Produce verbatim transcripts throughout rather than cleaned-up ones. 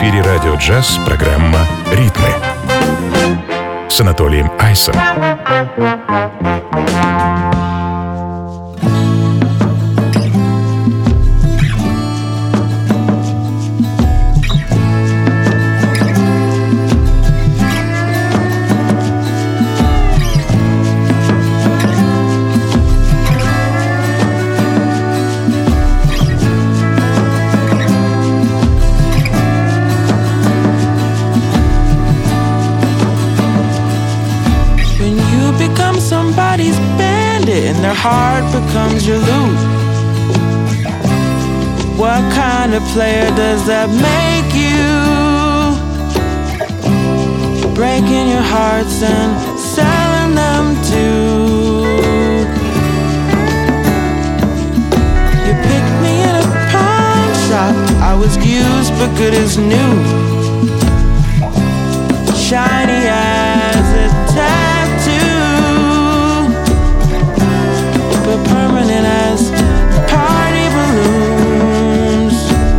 эфире радио «Джаз» программа «Ритмы» с Анатолием Айсом. And their heart becomes your loot. What kind of player does that make you? Breaking your hearts and selling them too. You picked me in a pawn shop. I was used but good as new. Shiny as a tattoo, but permanent as party balloons.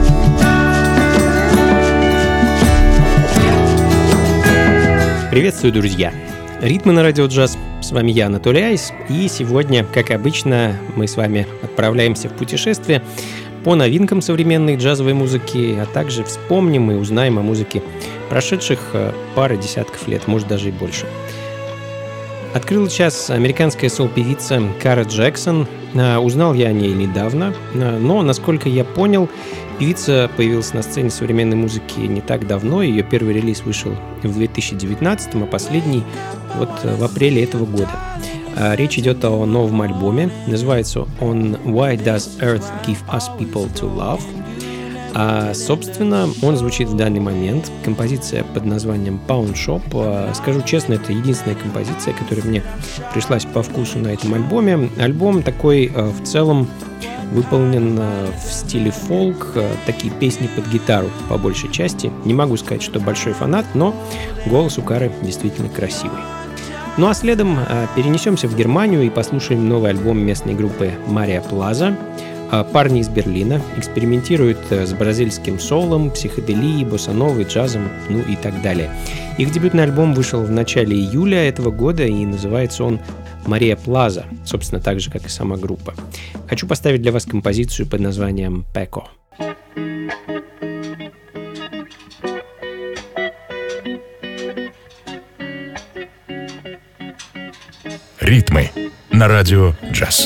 Приветствую, друзья! Ритмы на радио «Джаз». С вами я, Анатолий Айс. И сегодня, как обычно, мы с вами отправляемся в путешествие по новинкам современной джазовой музыки, а также вспомним и узнаем о музыке прошедших пары десятков лет, может даже и больше. Открыла час американская соул-певица Кара Джексон. Узнал я о ней недавно, но, насколько я понял, певица появилась на сцене современной музыки не так давно. Ее первый релиз вышел в две тысячи девятнадцатом, а последний вот в апреле этого года. Речь идет о новом альбоме. Называется он «Why Does Earth Give Us People to Love?». А, собственно, он звучит в данный момент. Композиция под названием Pawn Shop. Скажу честно, это единственная композиция, которая мне пришлась по вкусу на этом альбоме. Альбом такой в целом выполнен в стиле фолк, такие песни под гитару по большей части. Не могу сказать, что большой фанат, но голос у Кары действительно красивый. Ну а следом перенесемся в Германию и послушаем новый альбом местной группы Maria Plaza. Парни из Берлина экспериментируют с бразильским соулом, психоделией, боссановой, джазом, ну и так далее. Их дебютный альбом вышел в начале июля этого года и называется он «Maria Plaza», собственно, так же, как и сама группа. Хочу поставить для вас композицию под названием «Peko». Ритмы на радио «Джаз».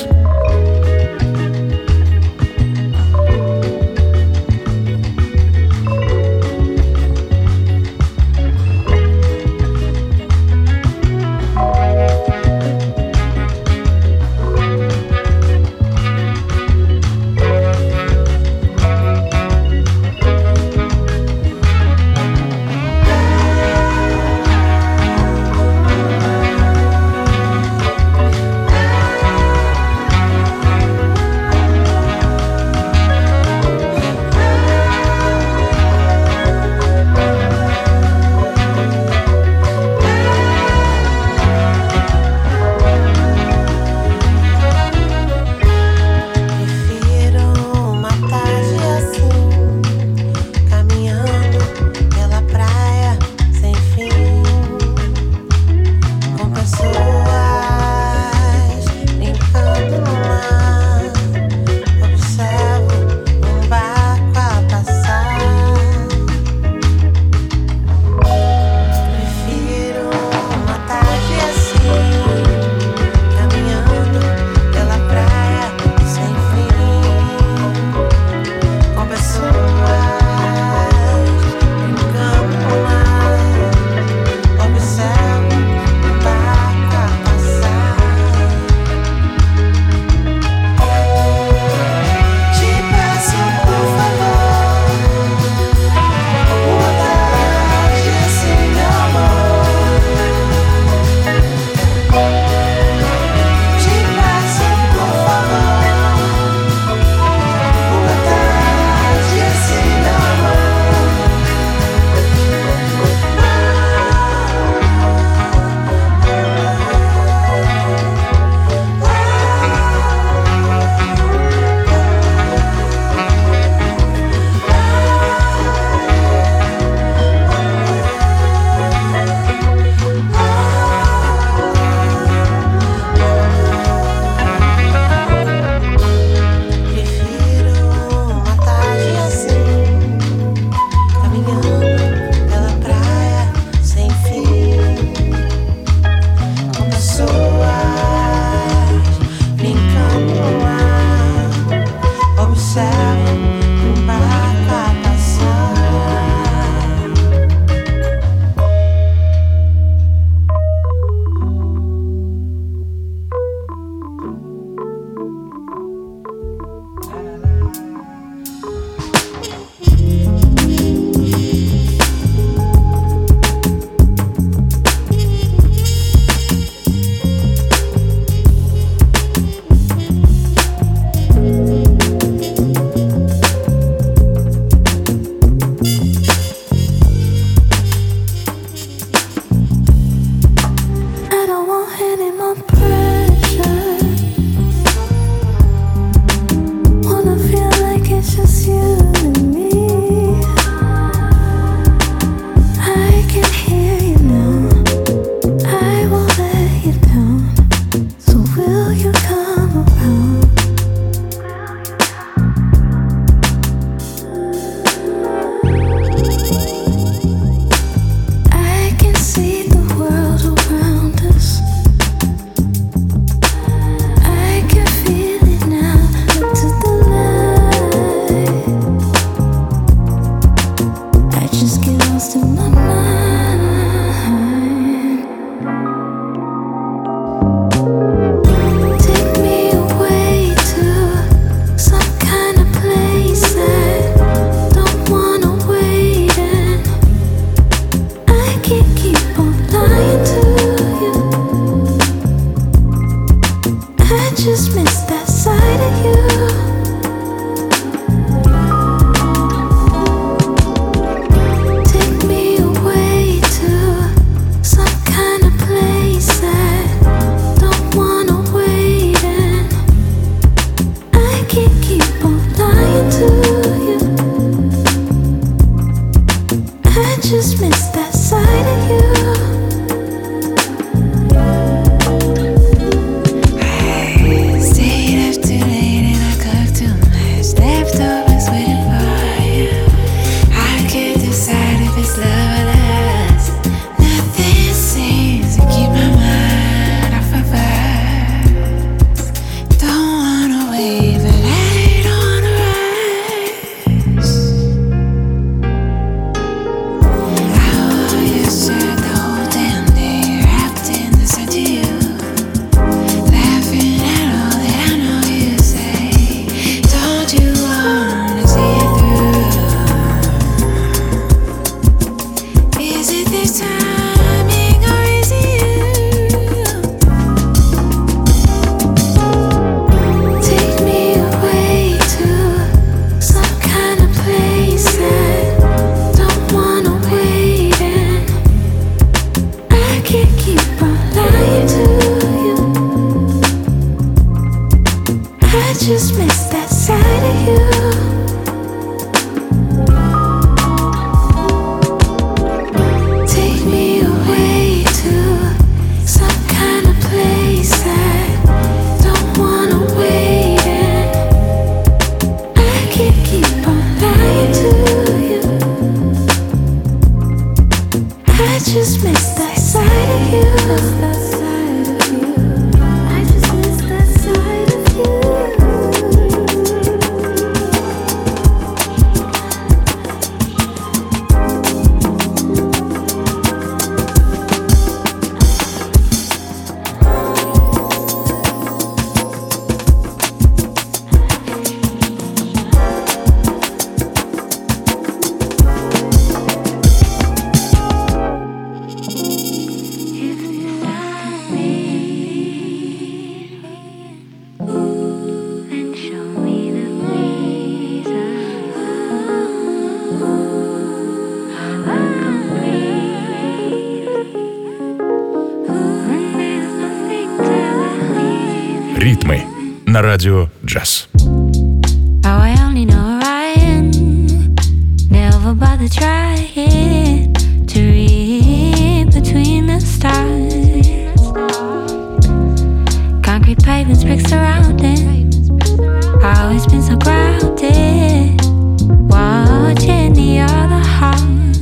на радио «Джаз». Oh, I only know Ryan. Never bother trying to read between the stars. Concrete pavements, bricks surrounding. Always been so grounded. Watching the other half.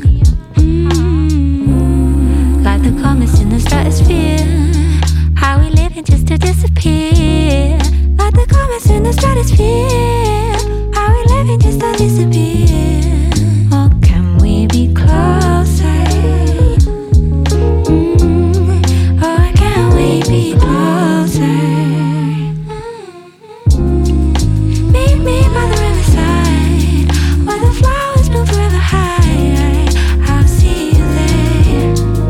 Mm-hmm. Like the comets in the stratosphere. How we living just to disappear. Like the comets in the stratosphere. How we living just to disappear. Oh, can we be closer? Mm. Oh, can we be closer? Meet me by the riverside, where the flowers bloom forever high. I'll see you there.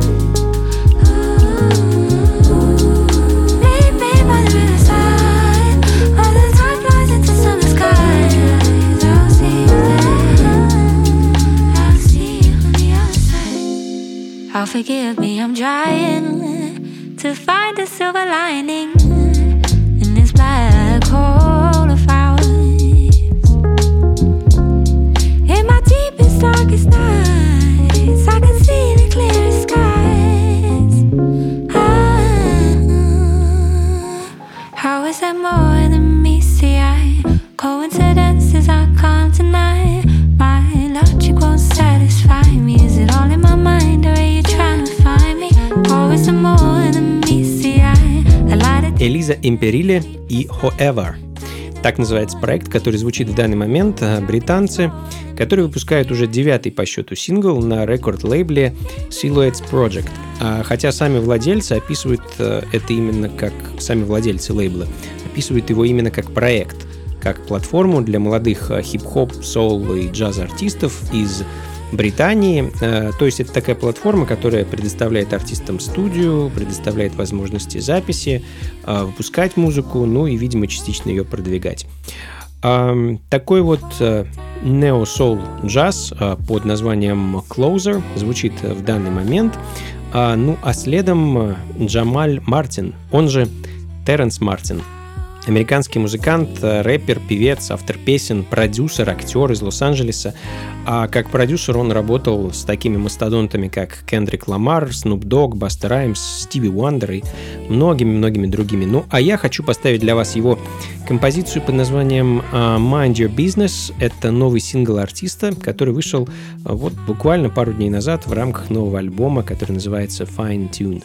Ooh. Meet me by the riverside, where the time flies into summer skies. I'll see you there. I'll see you on the other side. Oh, forgive me, I'm trying to find a silver lining in this black hole of ours. In my deepest, darkest nights, I can see the clearest skies. Ah, how is that more than me? See, I coincidences I can't deny. My logic won't satisfy me. Is it all in my mind, or are you trying to find me? Or is it more than me? See, I, I lied it. Элиза Империле и However. Так называется проект, который звучит в данный момент. Британцы, которые выпускают уже девятый по счету сингл на рекорд-лейбле Silhouettes Project. Хотя сами владельцы описывают это именно как... Сами владельцы лейбла описывают его именно как проект, как платформу для молодых хип-хоп, соул и джаз-артистов из Британии. То есть это такая платформа, которая предоставляет артистам студию, предоставляет возможности записи, выпускать музыку, ну и, видимо, частично ее продвигать. Такой вот нео-соул джаз под названием Closer звучит в данный момент. Ну а следом Джамаль Мартин, он же Терренс Мартин. Американский музыкант, рэпер, певец, автор песен, продюсер, актер из Лос-Анджелеса. А как продюсер он работал с такими мастодонтами, как Кендрик Ламар, Снуп Дог, Баста Раймс, Стиви Уандер и многими-многими другими. Ну, а я хочу поставить для вас его композицию под названием Mind Your Business. Это новый сингл артиста, который вышел вот буквально пару дней назад в рамках нового альбома, который называется Fine Tune.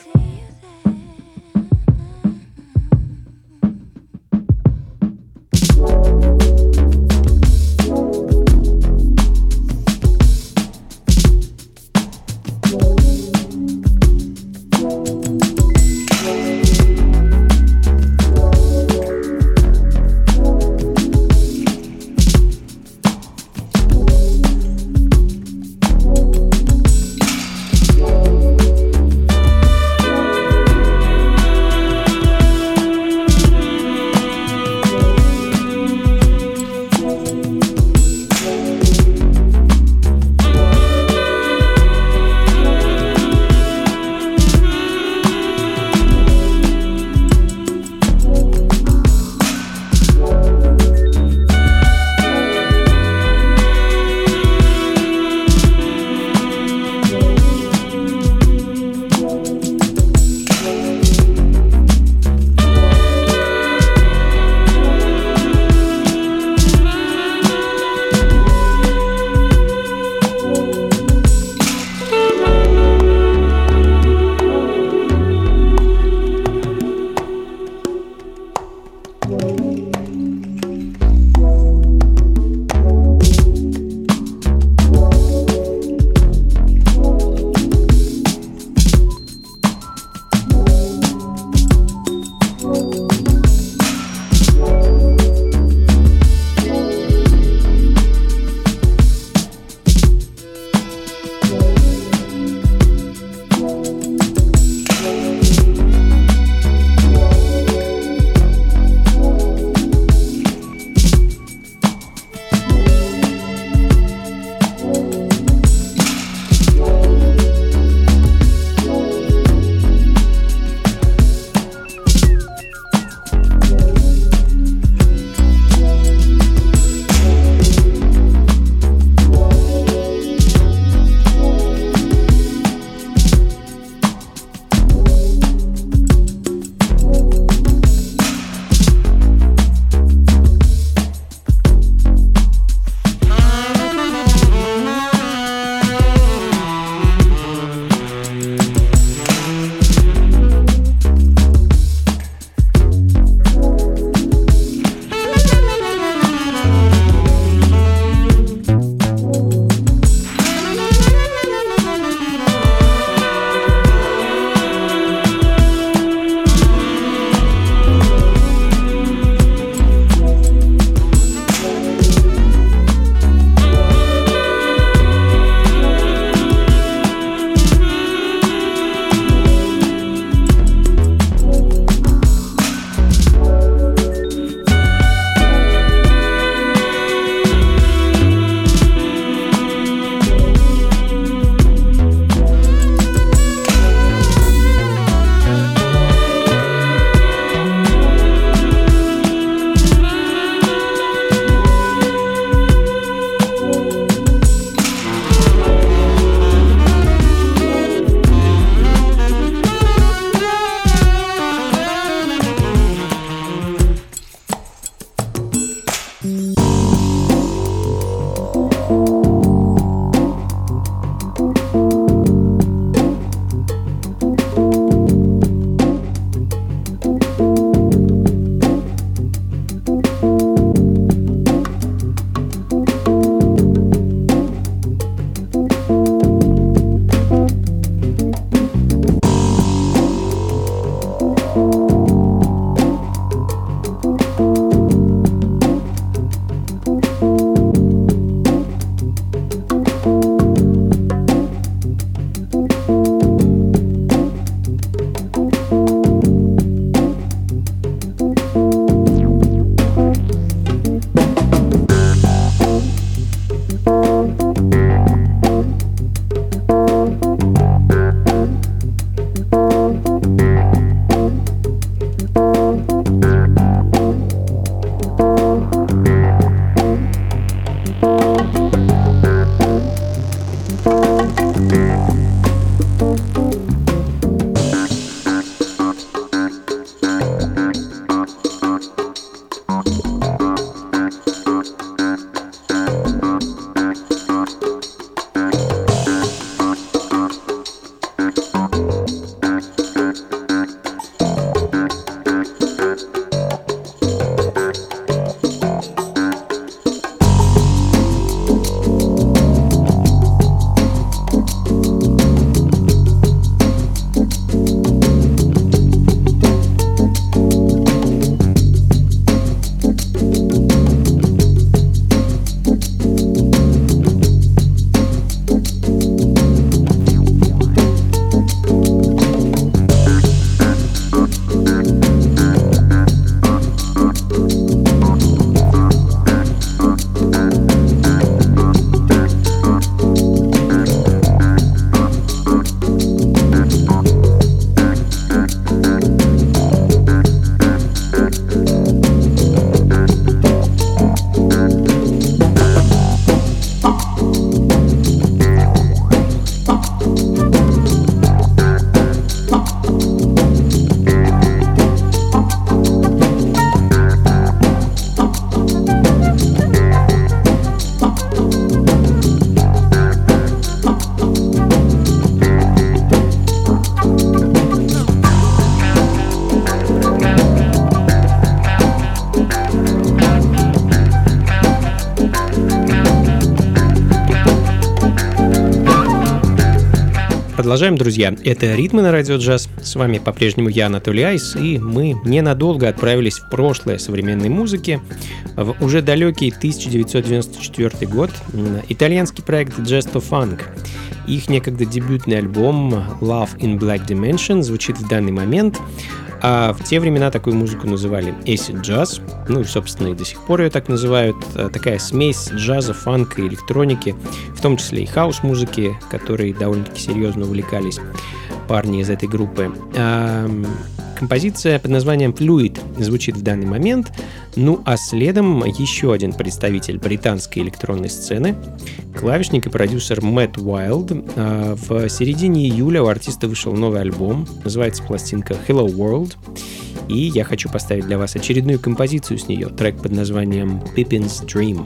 Продолжаем, друзья. Это «Ритмы на радио джаз». С вами по-прежнему я, Анатолий Айс, и мы ненадолго отправились в прошлое современной музыки, в уже далекий тысяча девятьсот девяносто четвёртый год. Итальянский проект Gesto Funk. Их некогда дебютный альбом Love in Black Dimension звучит в данный момент. А в те времена такую музыку называли acid jazz, ну и, собственно, и до сих пор ее так называют. Такая смесь джаза, фанка и электроники, в том числе и хаус-музыки, которой довольно-таки серьезно увлекались парни из этой группы. А композиция под названием Fluid звучит в данный момент. Ну а следом еще один представитель британской электронной сцены, клавишник и продюсер Мэтт Уайлд. В середине июля у артиста вышел новый альбом, называется пластинка Hello World. И я хочу поставить для вас очередную композицию с нее, трек под названием Pippin's Dream.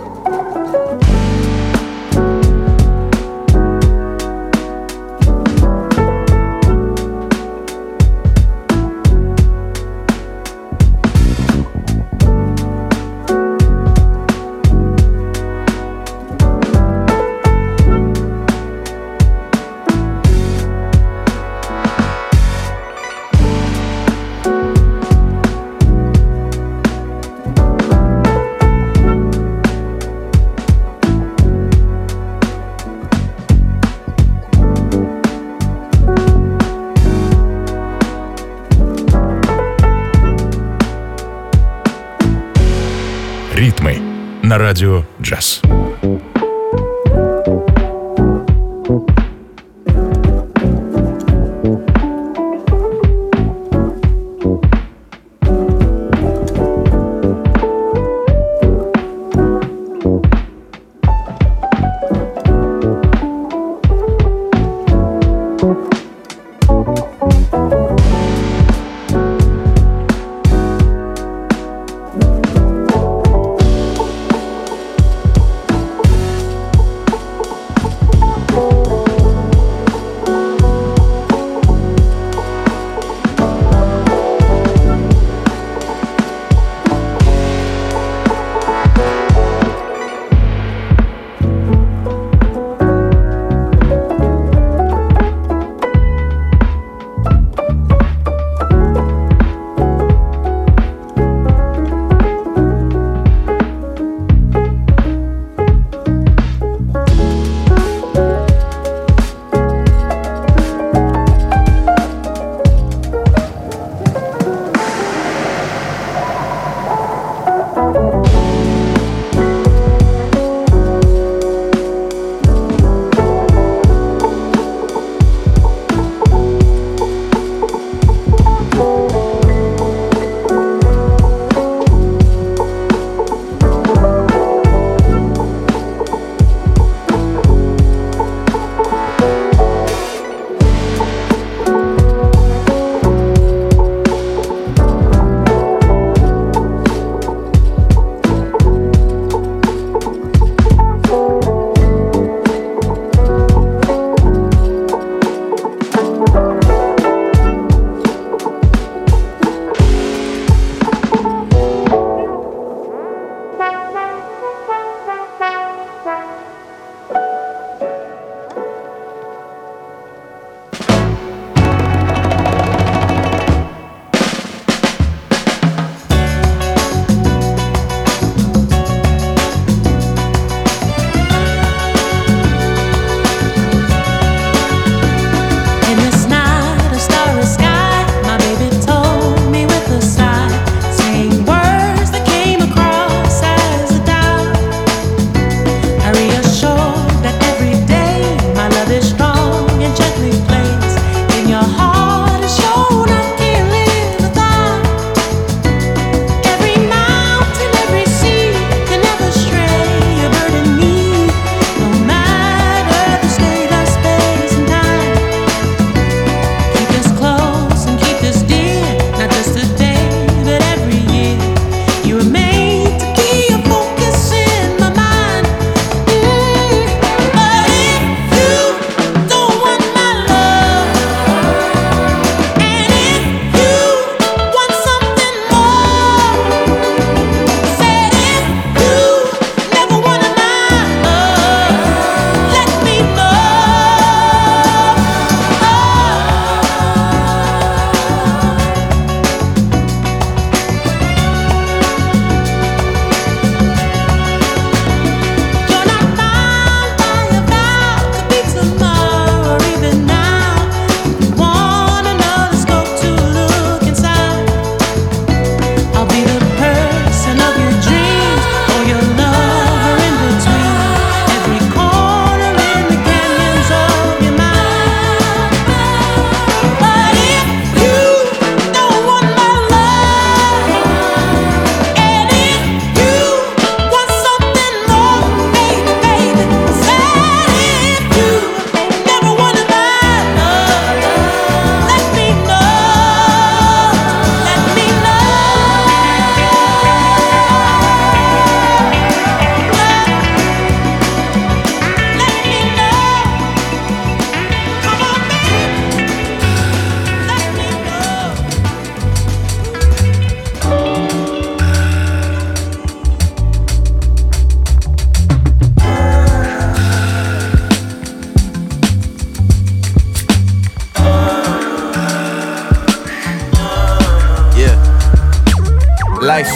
Ритмы на радио джаз.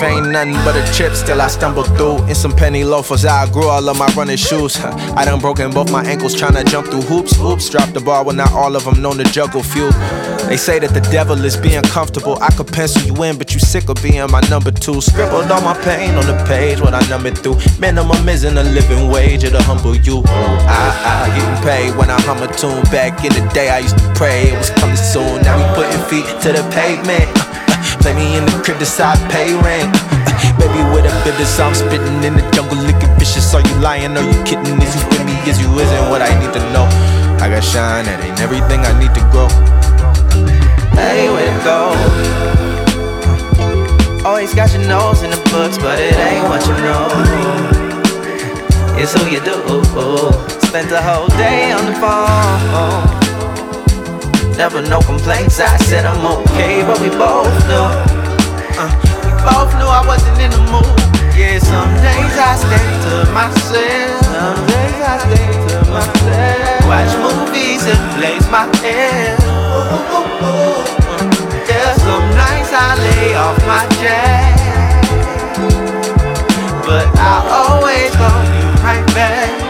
life ain't nothing but a trip, still I stumble through. In some penny loafers, I grew all of my running shoes. I done broken both my ankles trying to jump through hoops. Oops, dropped the ball when not all of them known to juggle few. They say that the devil is being comfortable. I could pencil you in, but you sick of being my number two. Scribbled all my pain on the page, what I numbered through. Minimum isn't a living wage, it'll humble you. I, I getting paid when I hum a tune. Back in the day I used to pray it was coming soon. Now we putting feet to the pavement. Play me in the crib, decide pay rent. Baby with a business, I'm spitting in the jungle, looking vicious. Are you lying? Are you kidding? Is you with me? Is you isn't what I need to know? I got shine, that ain't everything I need to grow. Hey, where to go? Always got your nose in the books, but it ain't what you know. It's who you do. Spent the whole day on the phone. Never no complaints, I said I'm okay, but we both knew uh, We both knew I wasn't in the mood. Yeah, some days I stay to myself. Some days I stay to myself. Watch movies and blaze my hair. Ooh, ooh, ooh, ooh. Yeah, some nights I lay off my jack, but I always call you right back.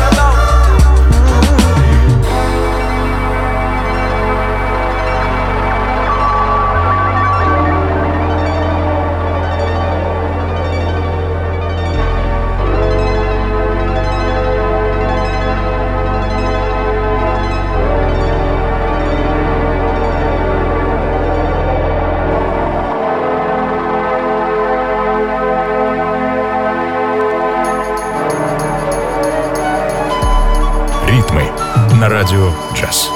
На радио «Джаз».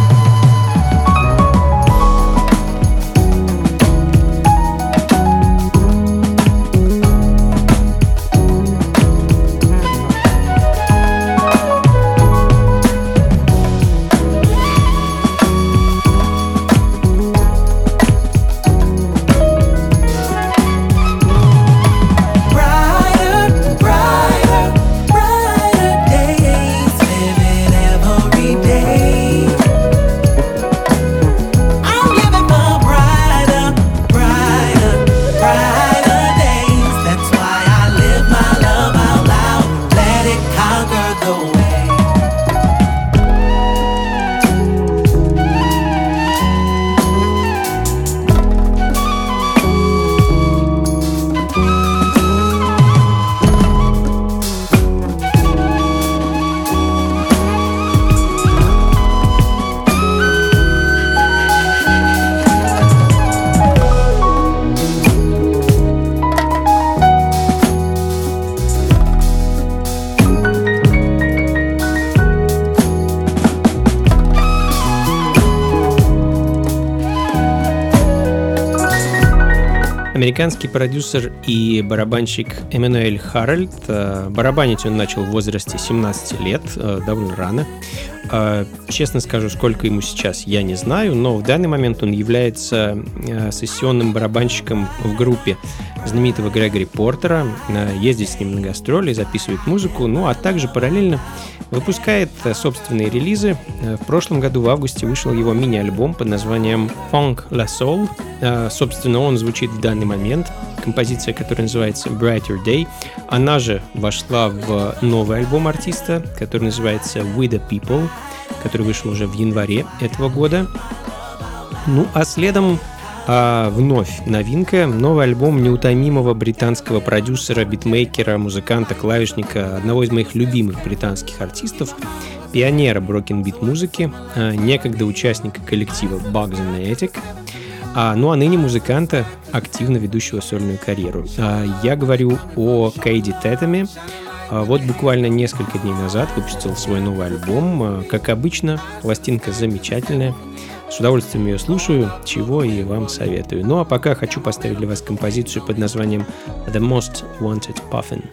Американский продюсер и барабанщик Эммануэль Харальд. Барабанить он начал в возрасте семнадцати лет, довольно рано. Честно скажу, сколько ему сейчас, я не знаю, но в данный момент он является сессионным барабанщиком в группе знаменитого Грегори Портера, ездит с ним на гастроли, записывает музыку, ну а также параллельно выпускает собственные релизы. В прошлом году в августе вышел его мини-альбом под названием Funk La Soul. Собственно, он звучит в данный момент. Композиция, которая называется Brighter Day, она же вошла в новый альбом артиста, который называется We The People, который вышел уже в январе этого года. Ну а следом а вновь новинка, новый альбом неутомимого британского продюсера, битмейкера, музыканта, клавишника, одного из моих любимых британских артистов, пионера брокенбит музыки, некогда участника коллектива Bugs and the Attic, а, ну а ныне музыканта, активно ведущего сольную карьеру. А, я говорю о Кэйди Тэтэме. А, вот буквально несколько дней назад выпустил свой новый альбом. А, как обычно, пластинка замечательная. С удовольствием ее слушаю, чего и вам советую. Ну а пока хочу поставить для вас композицию под названием The Most Wanted Puffin.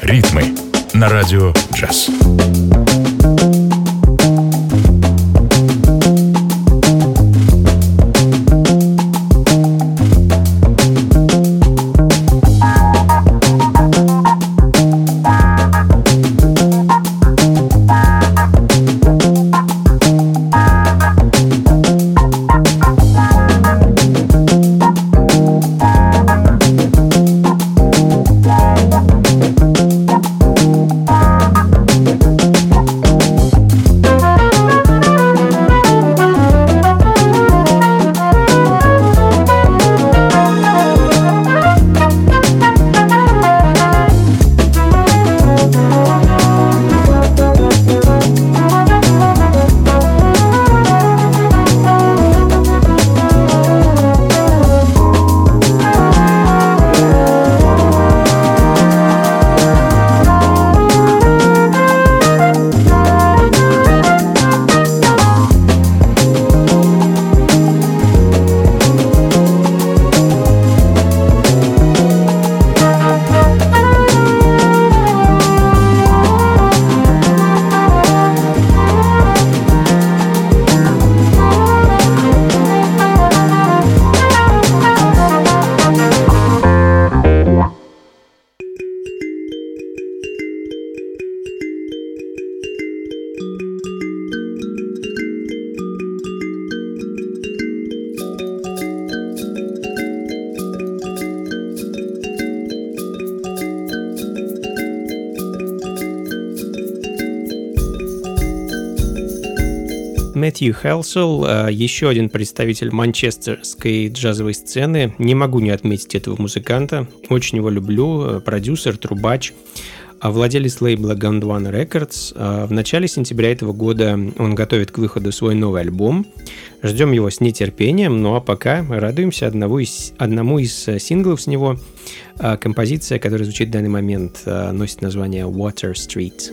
Ритмы на радио джаз. Мэтью Хелсел, еще один представитель манчестерской джазовой сцены. Не могу не отметить этого музыканта. Очень его люблю. Продюсер, трубач, владелец лейбла Gondwana Records. В начале сентября этого года он готовит к выходу свой новый альбом. Ждем его с нетерпением. Ну а пока радуемся одному из, одному из синглов с него. Композиция, которая звучит в данный момент, носит название Water Street.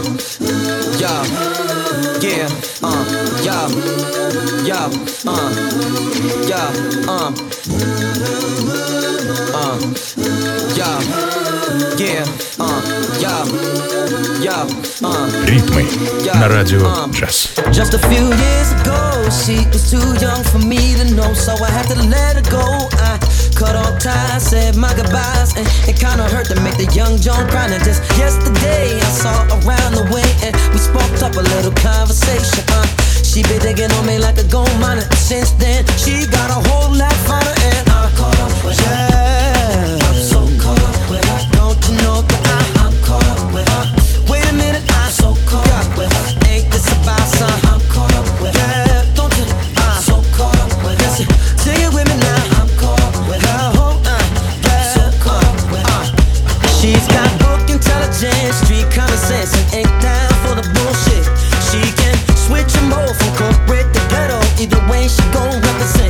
yo, yeah, uh, yo, yo, uh, yo, uh, uh, yo, yeah, uh, yo, yo, uh. Ритмы на радио джаз. Just a few years ago, she was too young for me to know, so I had to let her go. I cut all ties, said my goodbyes, and it kinda hurt to make the young Joan cry. And just yesterday, I saw her around the way, and we sparked up a little conversation. Uh, she been digging on me like a gold miner. Since then, she got a whole lot finer, and I'm caught up with her. Yeah, I'm so caught up with her. Don't you know that I, I'm caught up with her? Wait a minute, I'm so caught up with her. Ain't this about son? I'm caught up with her. Yeah, don't you? I'm so caught up with her. Listen, sing it with me now. I'm caught up with her. Uh, yeah, so caught up with her. She's got book intelligence, street common sense, and ain't down for the bullshit. She can switch them both from corporate to ghetto. Either way, she gon' represent.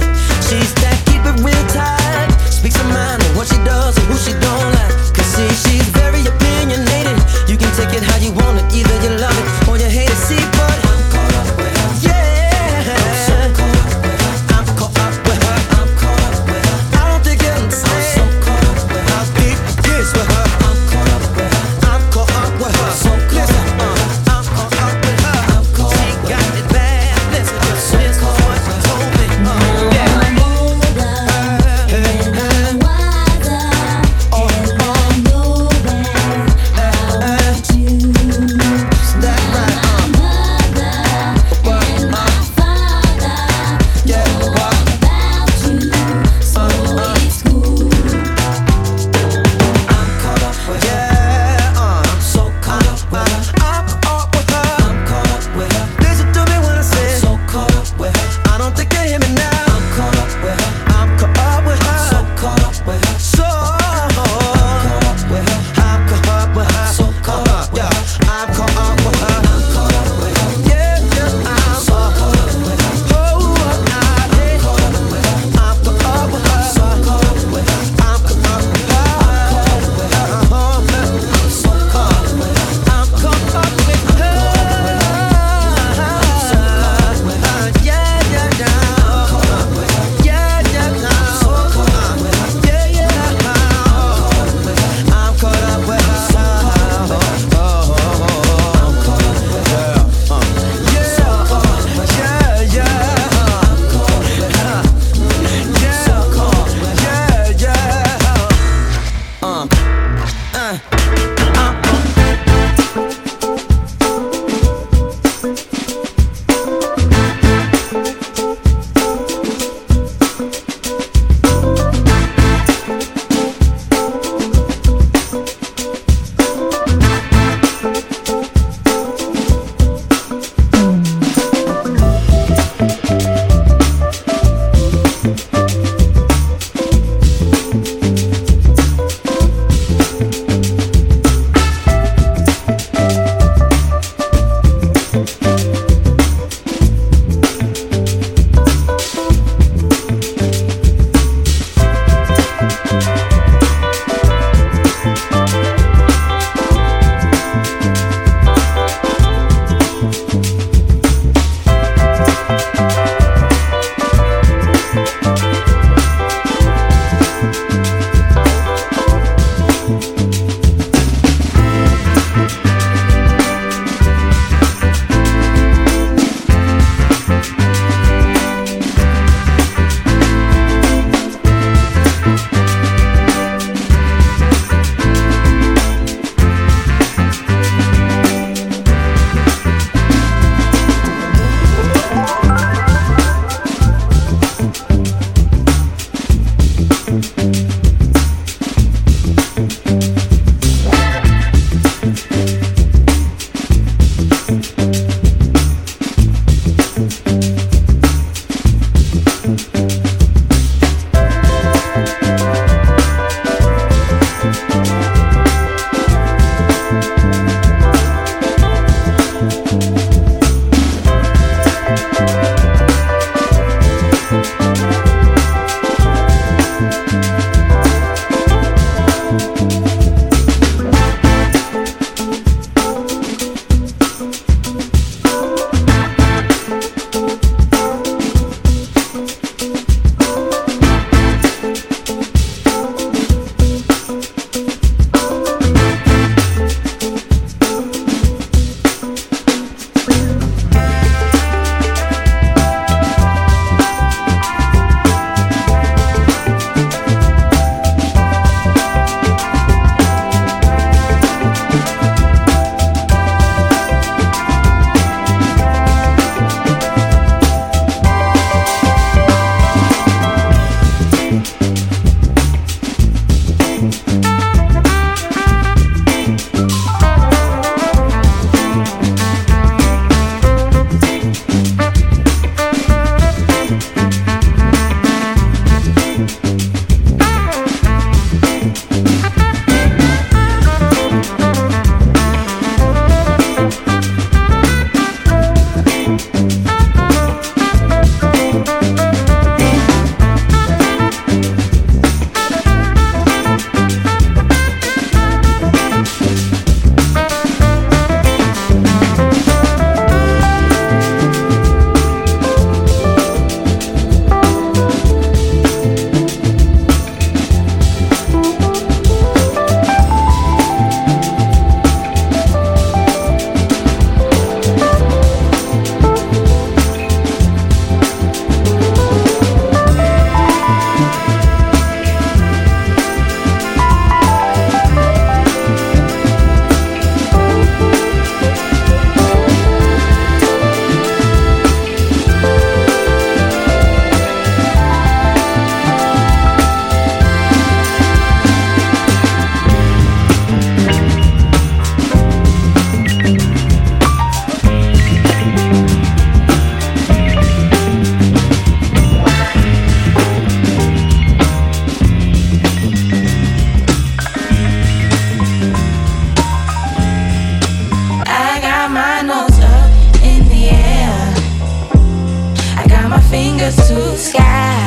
the sky.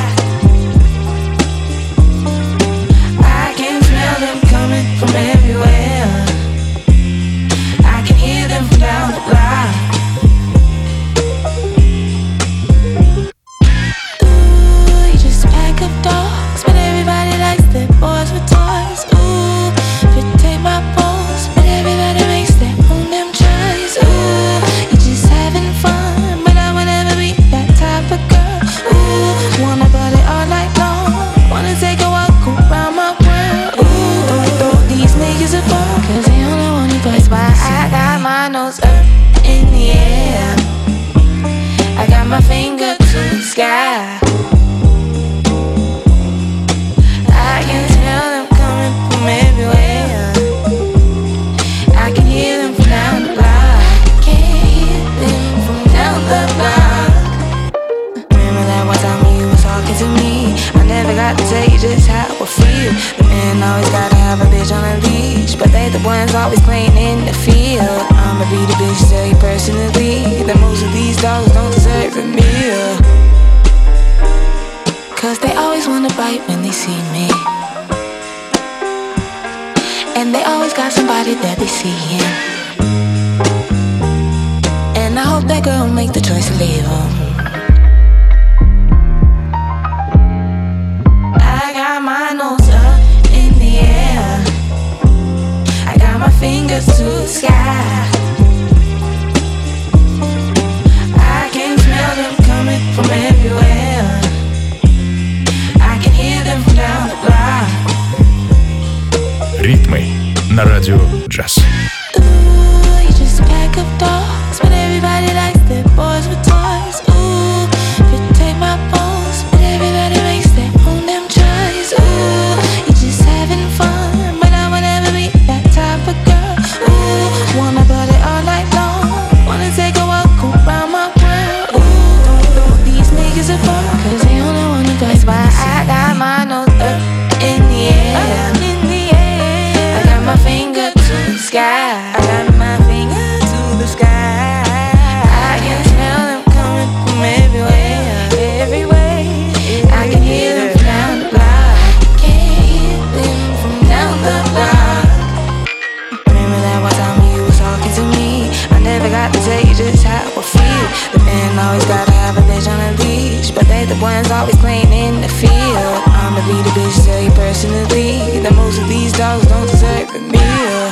I can smell them coming from everywhere. I can hear them from down the block. Ooh, you just pack up dogs, but everybody likes their boys with toys. Ooh, you take my balls, but everybody makes their own damn choice. Ooh, you're just having fun, but I would never be that type of girl. Ooh, wanna party all night long, wanna take a walk around my world. Ooh, don't throw these niggas a ball, cause they only want you. That's why I got my nose up in the air. I got my finger to the sky. I can smell them coming from everywhere. I can hear them from down the block. Can hear them from down the block. Remember that one time when you was talking to me? I never got to tell you just how I feel. The man always gotta have a bitch on a leash, but they the ones always playing in the field. I'ma be the bitch to tell you personally that most of these dogs don't deserve a meal. Cause they always wanna bite when they see me, and they always got somebody that they see in. And I hope that girl make the choice to leave him. I got my nose up in the air. I got my fingers to the sky. I can smell them coming from everywhere. I can hear them from down the block. Ритмы на радио джаз. Ooh, you just pack up dogs, but everybody likes their boys with toys. Ooh, you take my balls, but everybody makes their own damn choice. Ooh, you're just having fun, but I would never be that type of girl. Ooh, wanna party all night long, wanna take a walk around my world. Ooh, don't throw these niggas apart, cause they only wanna play. That's why I got my nose up in the air. Up in the air. I got my finger to the sky. I got my finger to the sky. I can smell them coming from everywhere, everywhere. I can hear them from down the block. Can hear them from down the block. Remember that one time when you was talking to me? I never got to tell you just how I feel. The man always gotta have a bitch on a leash, but they the ones always playing in the field. I'ma be the bitch to tell you personally that most of these dogs don't deserve a meal.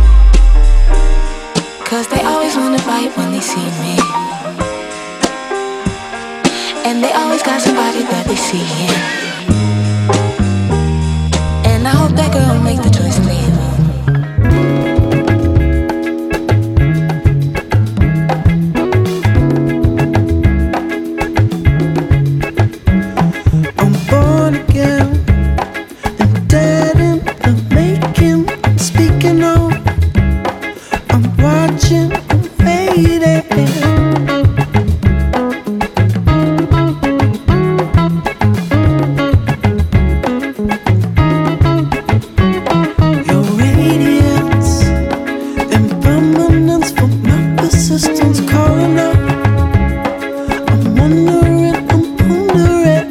Cause they always wanna fight when they see me, and they always got somebody that they see in. And I hope that girl make the choice to leave him. I'm born again and dead in the making. I'm speaking of, I'm watching, I'm waiting. Your radiance, impermanence for my persistence calling out. I'm wondering, I'm pondering.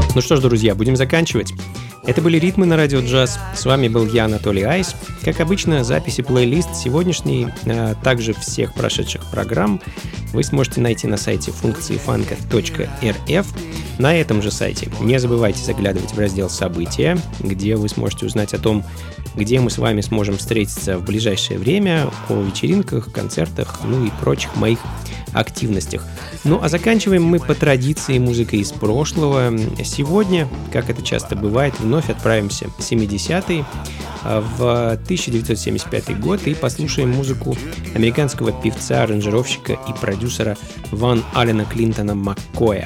Ну что ж, друзья, будем заканчивать. Это были «Ритмы» на Радио Джаз. С вами был я, Анатолий Айс. Как обычно, записи плейлист сегодняшней, а также всех прошедших программ вы сможете найти на сайте функции фанка точка эр эф. На этом же сайте не забывайте заглядывать в раздел «События», где вы сможете узнать о том, где мы с вами сможем встретиться в ближайшее время, о вечеринках, концертах, ну и прочих моих активностях. Ну а заканчиваем мы по традиции музыкой из прошлого. Сегодня, как это часто бывает, вновь отправимся в семидесятые, в тысяча девятьсот семьдесят пятый год, и послушаем музыку американского певца, аранжировщика и продюсера Ван Аллена Клинтона Маккоя.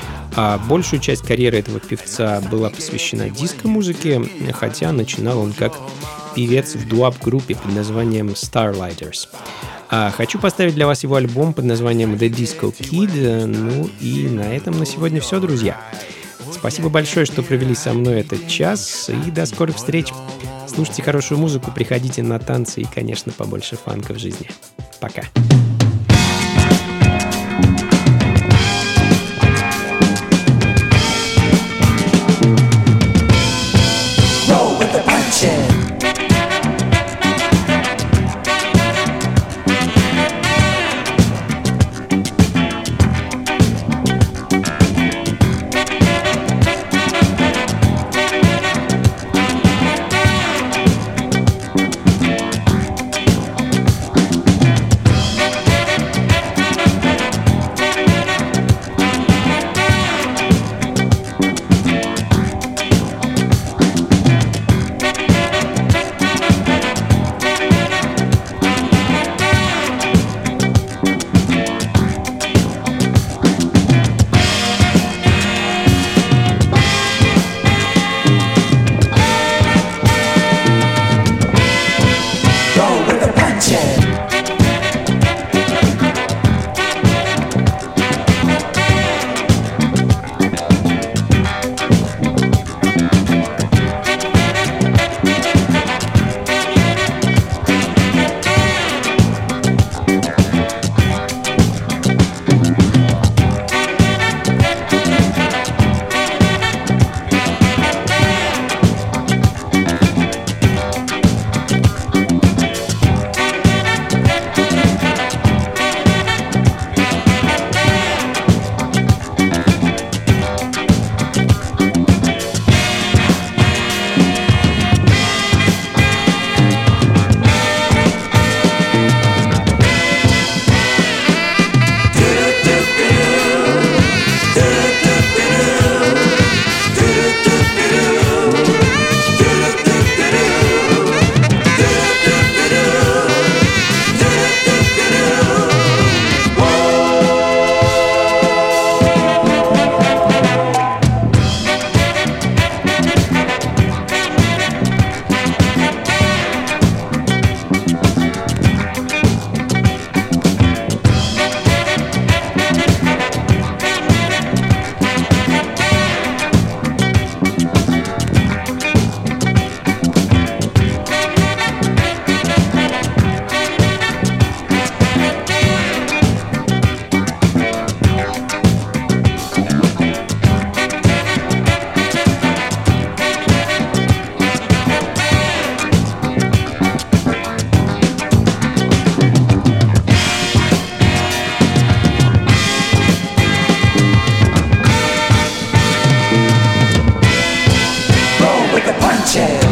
А большую часть карьеры этого певца была посвящена диско-музыке, хотя начинал он как певец в дуап-группе под названием Starlighters. А хочу поставить для вас его альбом под названием The Disco Kid. Ну и на этом на сегодня все, друзья. Спасибо большое, что провели со мной этот час, и до скорых встреч. Слушайте хорошую музыку, приходите на танцы и, конечно, побольше фанка в жизни. Пока. Punches.